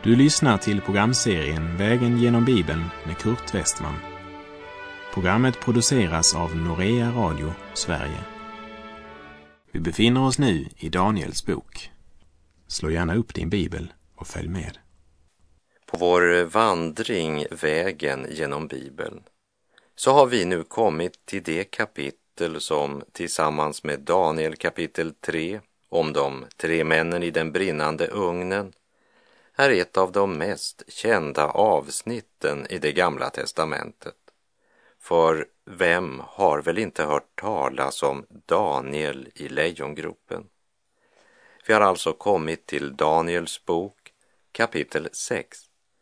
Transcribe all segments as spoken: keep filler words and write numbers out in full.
Du lyssnar till programserien Vägen genom Bibeln med Kurt Westman. Programmet produceras av Norea Radio, Sverige. Vi befinner oss nu i Daniels bok. Slå gärna upp din bibel och följ med. På vår vandring Vägen genom Bibeln så har vi nu kommit till det kapitel som tillsammans med Daniel kapitel tre om de tre männen i den brinnande ugnen är ett av de mest kända avsnitten i det gamla testamentet. För vem har väl inte hört talas om Daniel i lejongropen? Vi har alltså kommit till Daniels bok kapitel sex.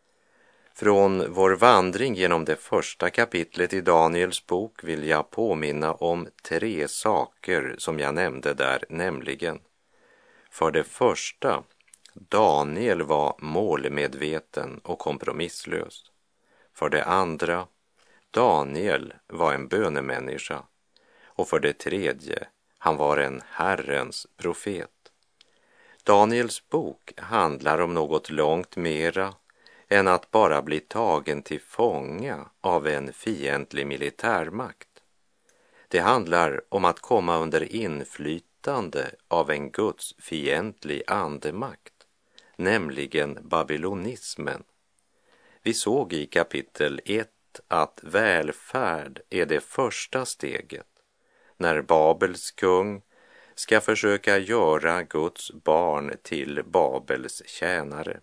Från vår vandring genom det första kapitlet i Daniels bok vill jag påminna om tre saker som jag nämnde där, nämligen: för det första, Daniel var målmedveten och kompromisslös. För det andra, Daniel var en bönemänniska. Och för det tredje, han var en Herrens profet. Daniels bok handlar om något långt mera än att bara bli tagen till fånga av en fientlig militärmakt. Det handlar om att komma under inflytande av en Guds fientlig andemakt, nämligen babylonismen. Vi såg i kapitel ett att välfärd är det första steget när Babels kung ska försöka göra Guds barn till Babels tjänare.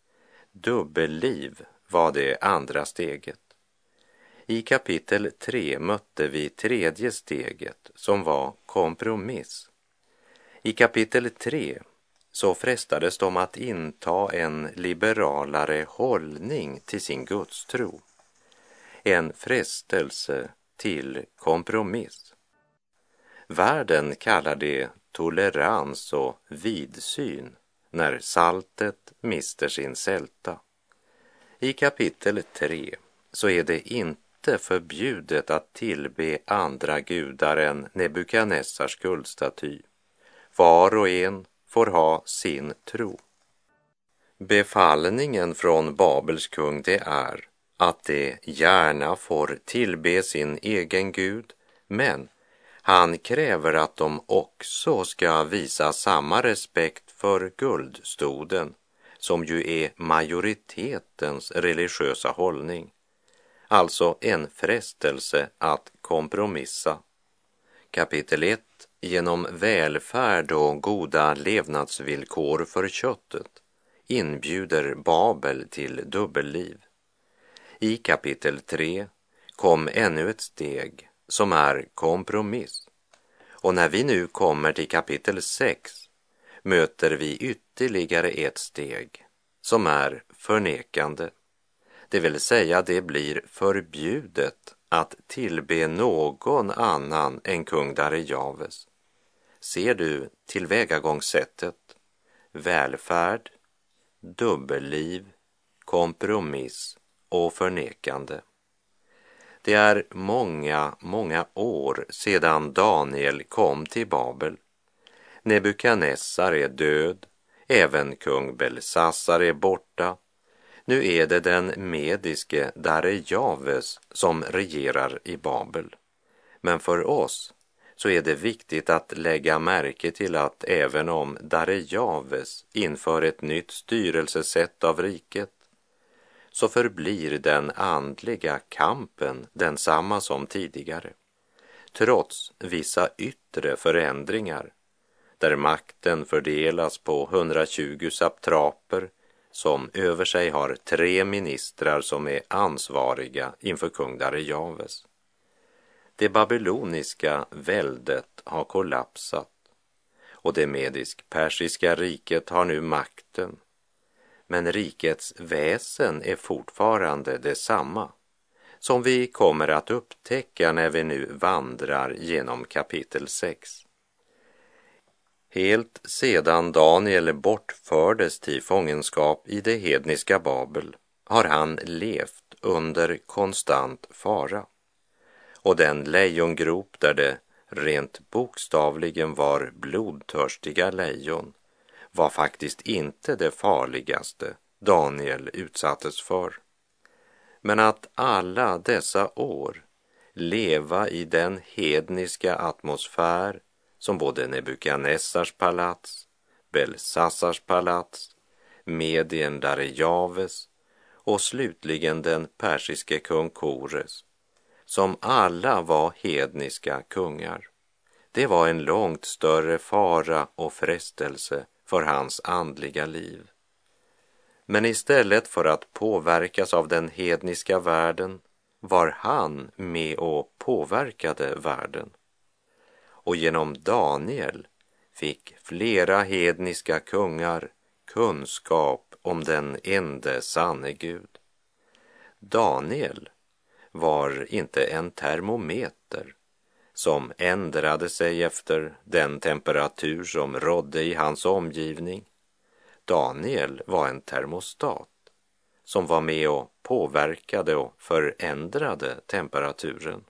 Dubbelliv var det andra steget. I kapitel tre mötte vi tredje steget som var kompromiss. I kapitel tre så frestades de att inta en liberalare hållning till sin gudstro. En frestelse till kompromiss. Världen kallar det tolerans och vidsyn när saltet mister sin sälta. I kapitel tre så är det inte förbjudet att tillbe andra gudar än Nebukadnessars guldstaty. Var och en får ha sin tro. Befallningen från Babels kung det är att de gärna får tillbe sin egen gud, men han kräver att de också ska visa samma respekt för guldstoden, som ju är majoritetens religiösa hållning. Alltså en frestelse att kompromissa. Kapitel ett. Genom välfärd och goda levnadsvillkor för köttet inbjuder Babel till dubbelliv. I kapitel tre kom ännu ett steg som är kompromiss. Och när vi nu kommer till kapitel sex möter vi ytterligare ett steg som är förnekande. Det vill säga det blir förbjudet att tillbe någon annan än kung Darejaves. Ser du tillvägagångssättet? Välfärd, dubbelliv, kompromiss och förnekande. Det är många, många år sedan Daniel kom till Babel. Nebukadnessar är död, även kung Belsassar är borta. Nu är det den mediske Darejaves som regerar i Babel. Men för oss så är det viktigt att lägga märke till att även om Darejaves inför ett nytt styrelsesätt av riket, så förblir den andliga kampen densamma som tidigare, trots vissa yttre förändringar, där makten fördelas på hundratjugo satraper som över sig har tre ministrar som är ansvariga inför kung Darejaves. Det babyloniska väldet har kollapsat och det medisk-persiska riket har nu makten. Men rikets väsen är fortfarande detsamma, som vi kommer att upptäcka när vi nu vandrar genom kapitel sex. Helt sedan Daniel bortfördes till fångenskap i det hedniska Babel har han levt under konstant fara. Och den lejongrop där det rent bokstavligen var blodtörstiga lejon var faktiskt inte det farligaste Daniel utsattes för. Men att alla dessa år leva i den hedniska atmosfär som både Nebukadnessars palats, Belsassars palats, Medien Darejaves och slutligen den persiske kung Kores, som alla var hedniska kungar. Det var en långt större fara och frestelse för hans andliga liv. Men istället för att påverkas av den hedniska världen var han med och påverkade världen. Och genom Daniel fick flera hedniska kungar kunskap om den ende sanne Gud. Daniel var inte en termometer som ändrade sig efter den temperatur som rådde i hans omgivning. Daniel var en termostat som var med och påverkade och förändrade temperaturen.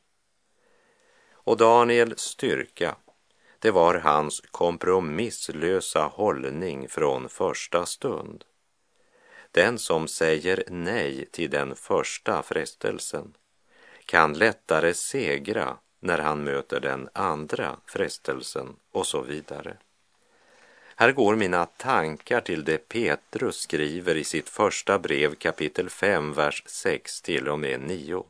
Och Daniels styrka, det var hans kompromisslösa hållning från första stund. Den som säger nej till den första frestelsen kan lättare segra när han möter den andra frestelsen och så vidare. Här går mina tankar till det Petrus skriver i sitt första brev kapitel fem, vers sex till och med nio.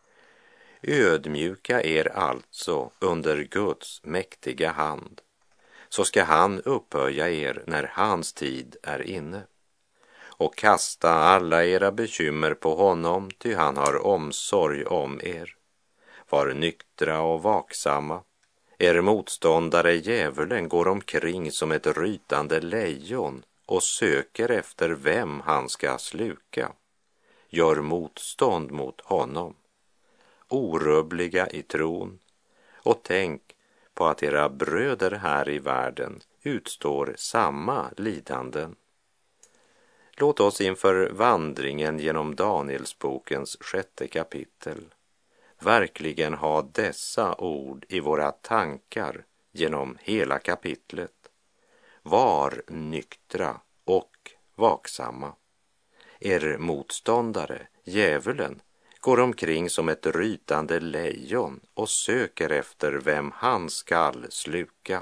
Ödmjuka er alltså under Guds mäktiga hand, så ska han upphöja er när hans tid är inne. Och kasta alla era bekymmer på honom, ty han har omsorg om er. Var nyktra och vaksamma. Er motståndare djävulen går omkring som ett rytande lejon och söker efter vem han ska sluka. Gör motstånd mot honom, orubbliga i tron, och tänk på att era bröder här i världen utstår samma lidanden. Låt oss inför vandringen genom Danielsbokens sjätte kapitel verkligen ha dessa ord i våra tankar genom hela kapitlet. Var nyktra och vaksamma. Er motståndare, djävulen, går omkring som ett rytande lejon och söker efter vem han skall sluka.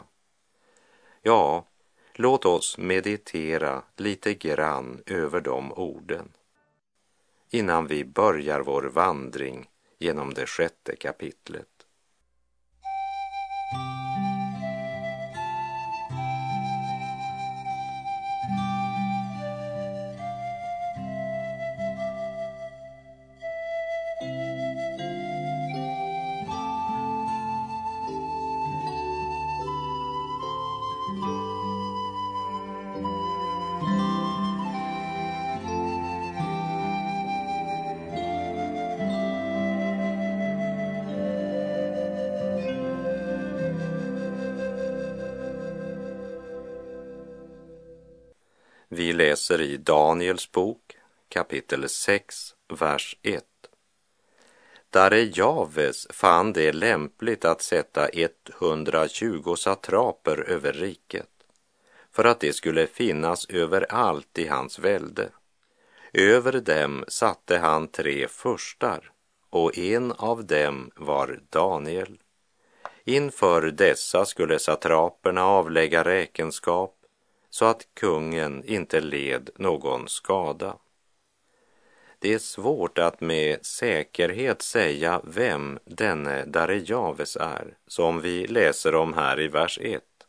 Ja, låt oss meditera lite grann över de orden innan vi börjar vår vandring genom det sjätte kapitlet. Vi läser i Daniels bok, kapitel sex, vers ett. Darejaves fann det lämpligt att sätta etthundratjugo satraper över riket, för att det skulle finnas överallt i hans välde. Över dem satte han tre furstar, och en av dem var Daniel. Inför dessa skulle satraperna avlägga räkenskap, så att kungen inte led någon skada. Det är svårt att med säkerhet säga vem denne Darejaves är, som vi läser om här i vers ett.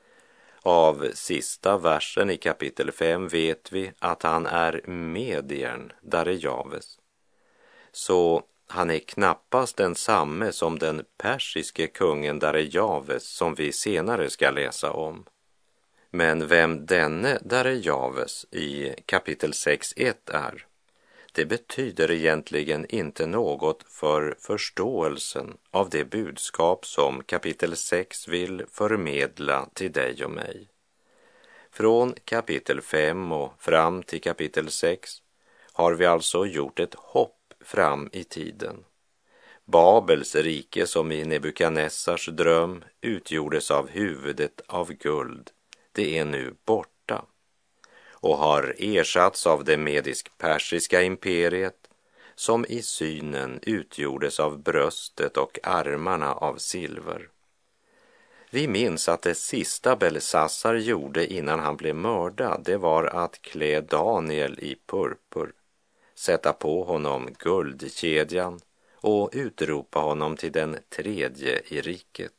Av sista versen i kapitel fem vet vi att han är Medien Darejaves. Så han är knappast densamme som den persiske kungen Darejaves som vi senare ska läsa om. Men vem denne Darejaves i kapitel sex ett är, det betyder egentligen inte något för förståelsen av det budskap som kapitel sex vill förmedla till dig och mig. Från kapitel fem och fram till kapitel sex har vi alltså gjort ett hopp fram i tiden. Babels rike, som i Nebukadnessars dröm utgjordes av huvudet av guld, det är nu borta. och har ersatts av det medisk-persiska imperiet, som i synen utgjordes av bröstet och armarna av silver. Vi minns att det sista Belsassar gjorde innan han blev mördad, det var att klä Daniel i purpur, sätta på honom guldkedjan och utropa honom till den tredje i riket.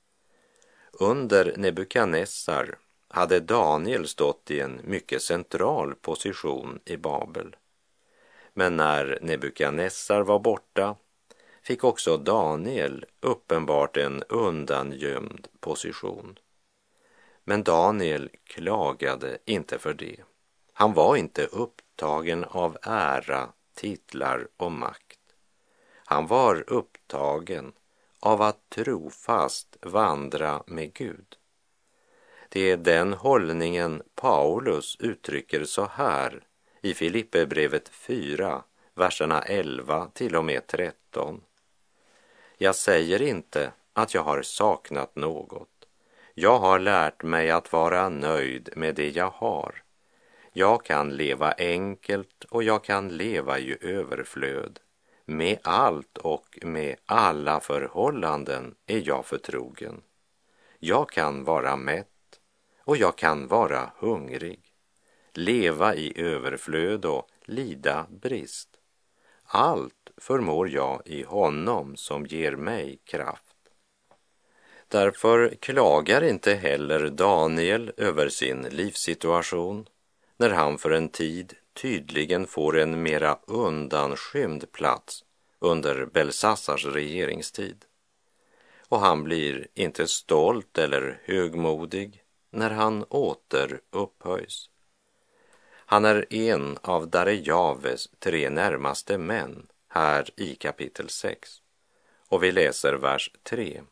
Under Nebukadnessar hade Daniel stått i en mycket central position i Babel. Men när Nebukadnessar var borta fick också Daniel uppenbart en undangömd position. Men Daniel klagade inte för det. Han var inte upptagen av ära, titlar och makt. Han var upptagen av att trofast vandra med Gud. Det är den hållningen Paulus uttrycker så här i Filipperbrevet fyra, verserna elva till och med tretton. Jag säger inte att jag har saknat något. Jag har lärt mig att vara nöjd med det jag har. Jag kan leva enkelt och jag kan leva i överflöd. Med allt och med alla förhållanden är jag förtrogen. Jag kan vara mätt och jag kan vara hungrig. Leva i överflöd och lida brist. Allt förmår jag i honom som ger mig kraft. Därför klagar inte heller Daniel över sin livssituation när han för en tid tydligen får en mera undanskymd plats under Belsassars regeringstid. Och han blir inte stolt eller högmodig när han åter upphöjs. Han är en av Darejaves tre närmaste män här i kapitel sex. Och vi läser vers tre.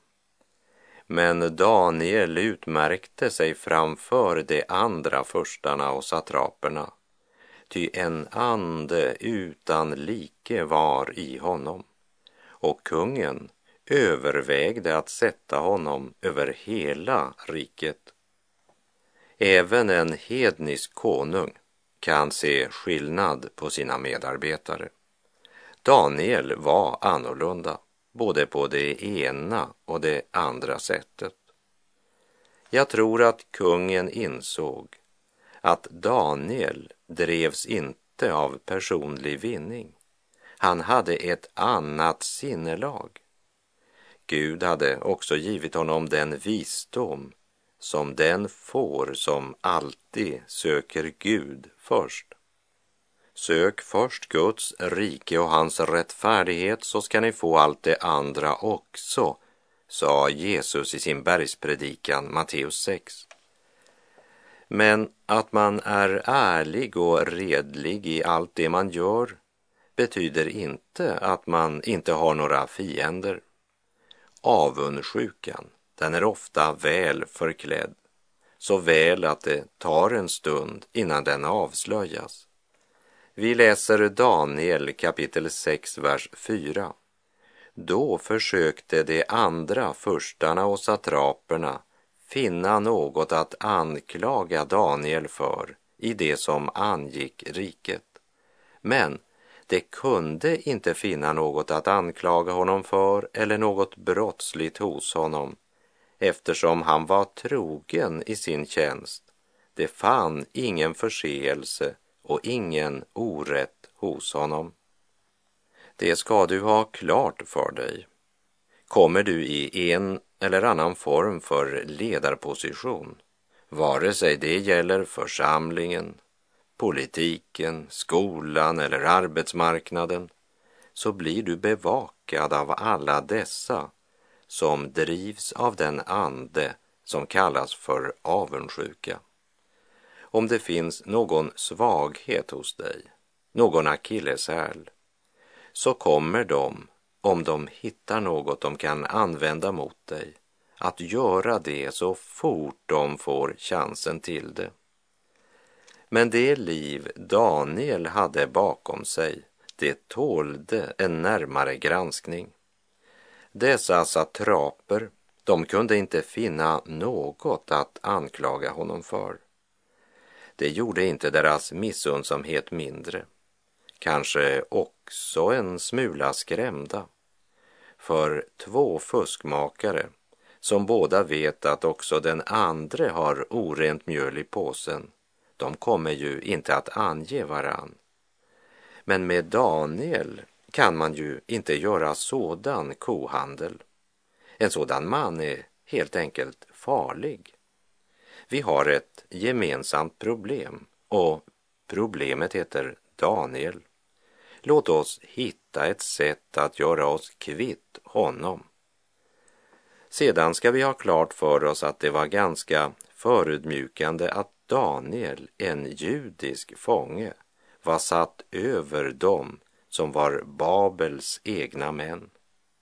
Men Daniel utmärkte sig framför de andra förstarna och satraperna, ty en ande utan like var i honom, och kungen övervägde att sätta honom över hela riket. Även en hednisk konung kan se skillnad på sina medarbetare. Daniel var annorlunda, både på det ena och det andra sättet. Jag tror att kungen insåg att Daniel drevs inte av personlig vinning. Han hade ett annat sinnelag. Gud hade också givit honom den visdom som den får som alltid söker Gud först. Sök först Guds rike och hans rättfärdighet, så ska ni få allt det andra också, sa Jesus i sin bergspredikan Matteus sex. Men att man är ärlig och redlig i allt det man gör betyder inte att man inte har några fiender. Avundsjukan, den är ofta väl förklädd, så väl att det tar en stund innan den avslöjas. Vi läser Daniel kapitel sex, vers fyra. Då försökte de andra förstarna och satraperna finna något att anklaga Daniel för i det som angick riket. Men de kunde inte finna något att anklaga honom för eller något brottsligt hos honom, eftersom han var trogen i sin tjänst. Det fann ingen förseelse och ingen orätt hos honom. Det ska du ha klart för dig. Kommer du i en eller annan form för ledarposition, vare sig det gäller församlingen, politiken, skolan eller arbetsmarknaden, så blir du bevakad av alla dessa som drivs av den ande som kallas för avundsjuka. Om det finns någon svaghet hos dig, någon akilleshäl, så kommer de, om de hittar något de kan använda mot dig, att göra det så fort de får chansen till det. Men det liv Daniel hade bakom sig, det tålde en närmare granskning. Dessa satraper, de kunde inte finna något att anklaga honom för. det gjorde inte deras missundsamhet mindre. Kanske också en smula skrämda. För två fuskmakare som båda vet att också den andra har orent mjöl i påsen, de kommer ju inte att ange varann. Men med Daniel kan man ju inte göra sådan kohandel. En sådan man är helt enkelt farlig. Vi har ett gemensamt problem och problemet heter Daniel. Låt oss hitta ett sätt att göra oss kvitt honom. Sedan ska vi ha klart för oss att det var ganska förödmjukande att Daniel, en judisk fånge, var satt över dem som var Babels egna män.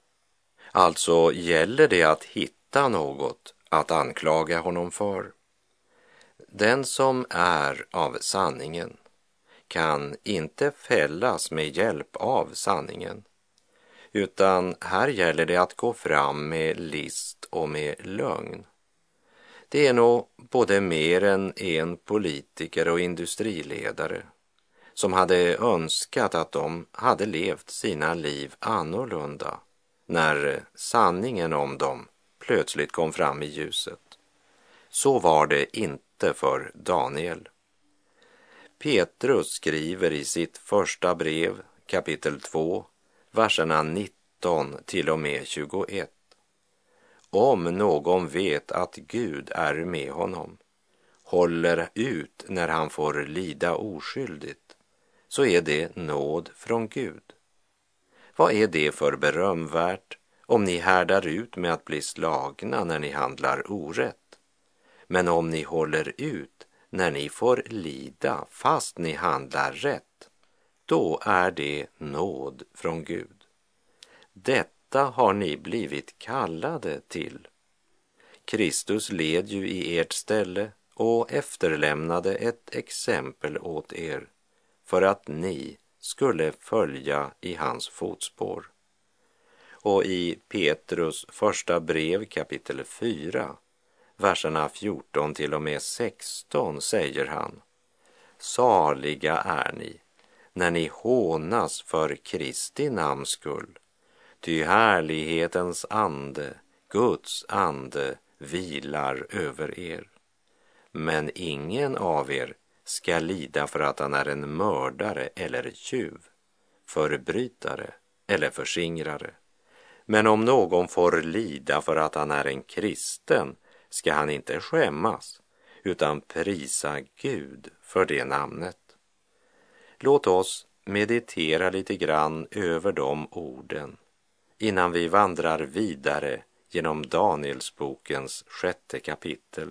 Alltså gäller det att hitta något att anklaga honom för. Den som är av sanningen kan inte fällas med hjälp av sanningen, utan här gäller det att gå fram med list och med lögn. Det är nog både mer än en politiker och industriledare som hade önskat att de hade levt sina liv annorlunda när sanningen om dem plötsligt kom fram i ljuset. Så var det inte för Daniel. Petrus skriver i sitt första brev, kapitel två, verserna nitton till och med tjugoett. Om någon vet att Gud är med honom, håller ut när han får lida oskyldigt, så är det nåd från Gud. Vad är det för berömvärt om ni härdar ut med att bli slagna när ni handlar orätt? Men om ni håller ut när ni får lida fast ni handlar rätt, då är det nåd från Gud. Detta har ni blivit kallade till. Kristus led ju i ert ställe och efterlämnade ett exempel åt er för att ni skulle följa i hans fotspår. Och i Petrus första brev kapitel fyra, verserna fjorton till och med sexton säger han: saliga är ni när ni hånas för Kristi namns skull, ty härlighetens ande, Guds ande, vilar över er. Men ingen av er ska lida för att han är en mördare eller tjuv, förbrytare eller förskingrare. Men om någon får lida för att han är en kristen, ska han inte skämmas, utan prisa Gud för det namnet. Låt oss meditera lite grann över de orden innan vi vandrar vidare genom Danielsbokens sjätte kapitel.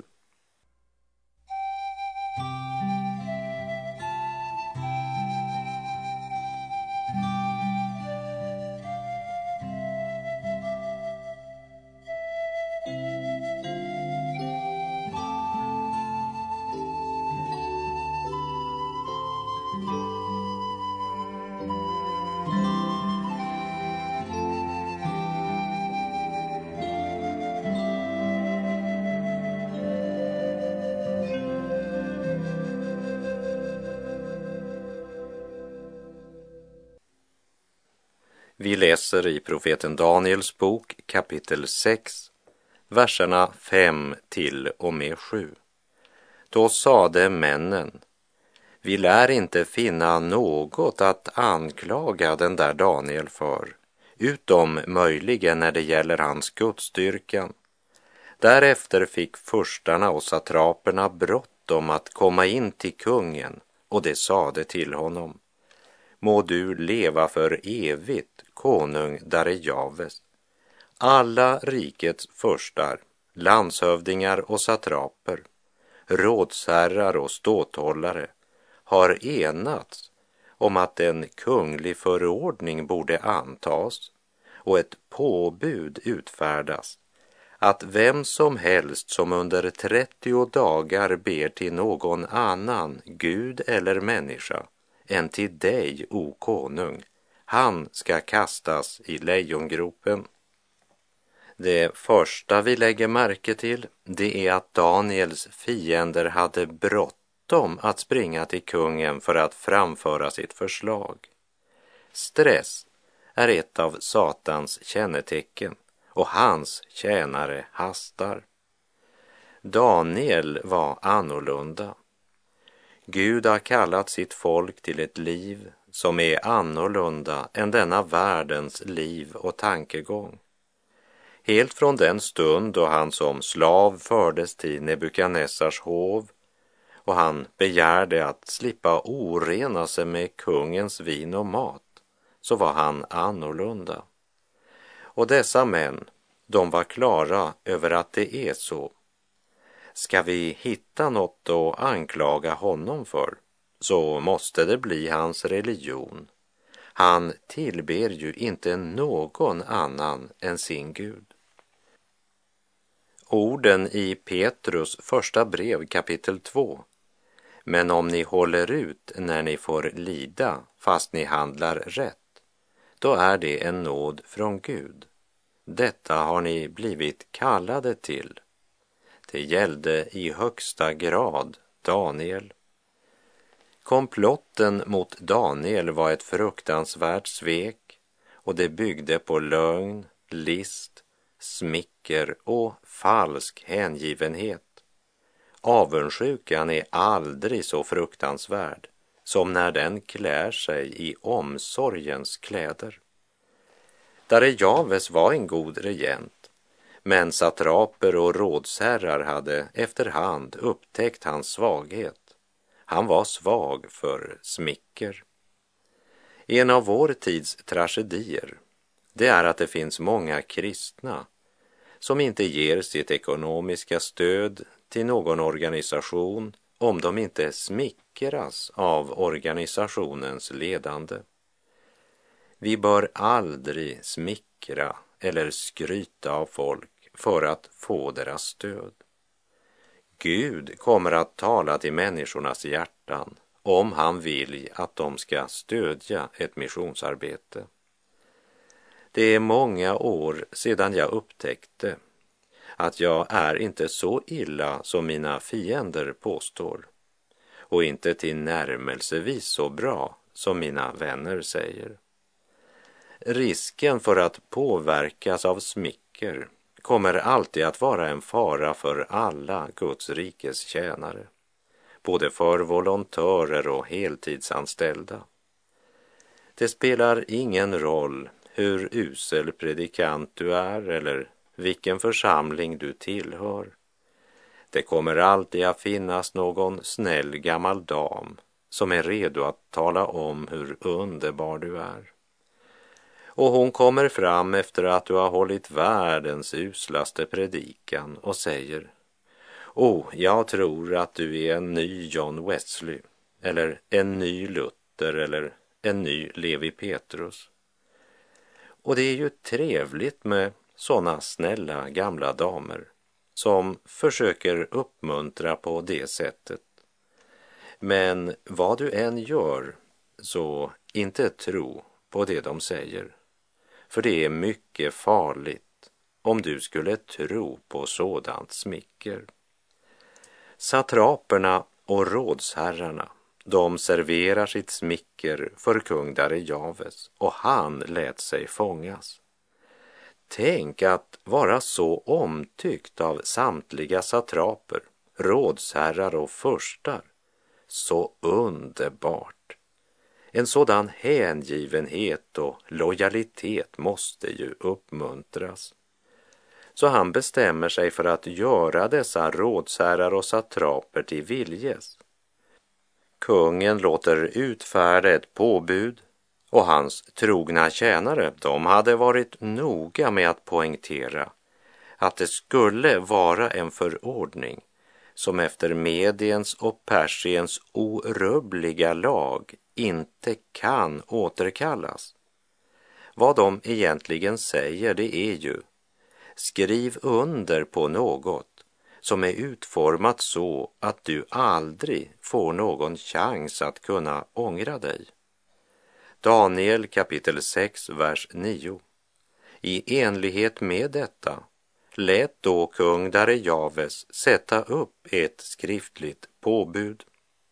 Vi läser i profeten Daniels bok kapitel sex, verserna fem till och med sju. Då sade männen: vi lär inte finna något att anklaga den där Daniel för, utom möjligen när det gäller hans gudsdyrkan. Därefter fick furstarna och satraperna bråttom att komma in till kungen, och det sade till honom: må du leva för evigt, konung Darejaves. Alla rikets furstar, landshövdingar och satraper, rådsherrar och ståthållare har enats om att en kunglig förordning borde antas och ett påbud utfärdas att vem som helst som under trettio dagar ber till någon annan, Gud eller människa, än till dig, o konung, han ska kastas i lejongropen. Det första vi lägger märke till, det är att Daniels fiender hade bråttom bråttom att springa till kungen för att framföra sitt förslag. Stress är ett av Satans kännetecken och hans tjänare hastar. Daniel var annorlunda. Gud har kallat sitt folk till ett liv som är annorlunda än denna världens liv och tankegång. Helt från den stund då han som slav fördes till Nebukadnessars hov och han begärde att slippa orena sig med kungens vin och mat, så var han annorlunda. Och dessa män, de var klara över att det är så. Ska vi hitta något att anklaga honom för, så måste det bli hans religion. Han tillber ju inte någon annan än sin Gud. Orden i Petrus första brev kapitel två. Men om ni håller ut när ni får lida fast ni handlar rätt, då är det en nåd från Gud. Detta har ni blivit kallade till. Det gällde i högsta grad Daniel. Komplotten mot Daniel var ett fruktansvärt svek och det byggde på lögn, list, smicker och falsk hängivenhet. Avundsjukan är aldrig så fruktansvärd som när den klär sig i omsorgens kläder. Darejaves var en god regent, men satraper och rådsherrar hade efterhand upptäckt hans svaghet. Han var svag för smicker. En av vår tids tragedier, det är att det finns många kristna som inte ger sitt ekonomiska stöd till någon organisation om de inte smickras av organisationens ledande. Vi bör aldrig smickra eller skryta av folk för att få deras stöd. Gud kommer att tala till människornas hjärtan om han vill att de ska stödja ett missionsarbete. Det är många år sedan jag upptäckte att jag är inte så illa som mina fiender påstår och inte tillnärmelsevis så bra som mina vänner säger. Risken för att påverkas av smicker kommer alltid att vara en fara för alla Guds rikes tjänare, både för volontörer och heltidsanställda. Det spelar ingen roll hur usel predikant du är eller vilken församling du tillhör. Det kommer alltid att finnas någon snäll gammal dam som är redo att tala om hur underbar du är. Och hon kommer fram efter att du har hållit världens uslaste predikan och säger: Åh, jag tror att du är en ny John Wesley, eller en ny Luther, eller en ny Levi Petrus. Och det är ju trevligt med sådana snälla gamla damer som försöker uppmuntra på det sättet. Men vad du än gör, så inte tro på det de säger. För det är mycket farligt om du skulle tro på sådant smicker. Satraperna och rådsherrarna, de serverar sitt smicker för kung Darejaves och han lät sig fångas. Tänk att vara så omtyckt av samtliga satraper, rådsherrar och furstar. Så underbart. En sådan hängivenhet och lojalitet måste ju uppmuntras. Så han bestämmer sig för att göra dessa rådsherrar och satraper till viljes. Kungen låter utfärda ett påbud och hans trogna tjänare, de hade varit noga med att poängtera att det skulle vara en förordning som efter Mediens och Persiens orubbliga lag inte kan återkallas. Vad de egentligen säger, det är ju: skriv under på något som är utformat så att du aldrig får någon chans att kunna ångra dig. Daniel kapitel sex, vers nio. I enlighet med detta lät då kung Darejaves sätta upp ett skriftligt påbud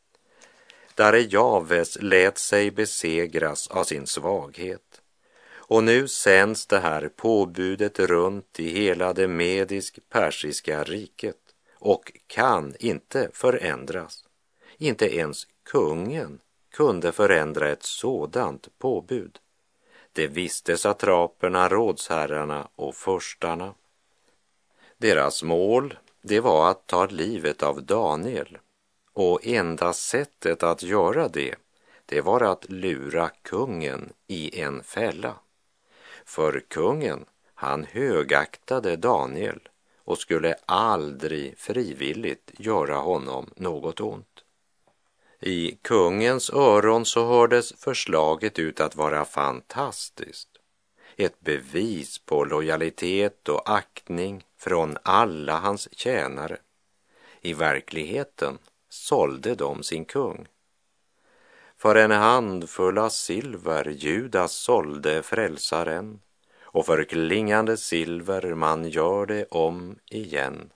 Darejaves lät sig besegras av sin svaghet. Och nu sänds det här påbudet runt i hela det medisk-persiska riket och kan inte förändras. Inte ens kungen kunde förändra ett sådant påbud. Det visste satraperna, rådsherrarna och förstarna. Deras mål, det var att ta livet av Daniel. Och enda sättet att göra det, det var att lura kungen i en fälla. För kungen, han högaktade Daniel och skulle aldrig frivilligt göra honom något ont. I kungens öron så hördes förslaget ut att vara fantastiskt. Ett bevis på lojalitet och aktning från alla hans tjänare. I verkligheten sålde de sin kung. För en handfull av silver Judas sålde frälsaren, och för klingande silver man gör det om igen.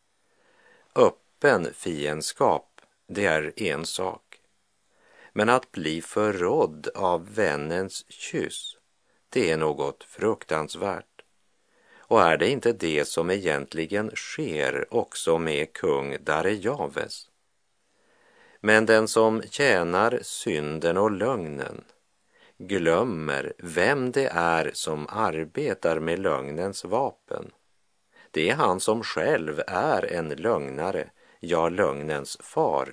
Öppen fiendskap, det är en sak. Men att bli förrådd av vännens kyss, det är något fruktansvärt. Och är det inte det som egentligen sker också med kung Darejaves? Men den som tjänar synden och lögnen glömmer vem det är som arbetar med lögnens vapen. Det är han som själv är en lögnare, ja, lögnens far.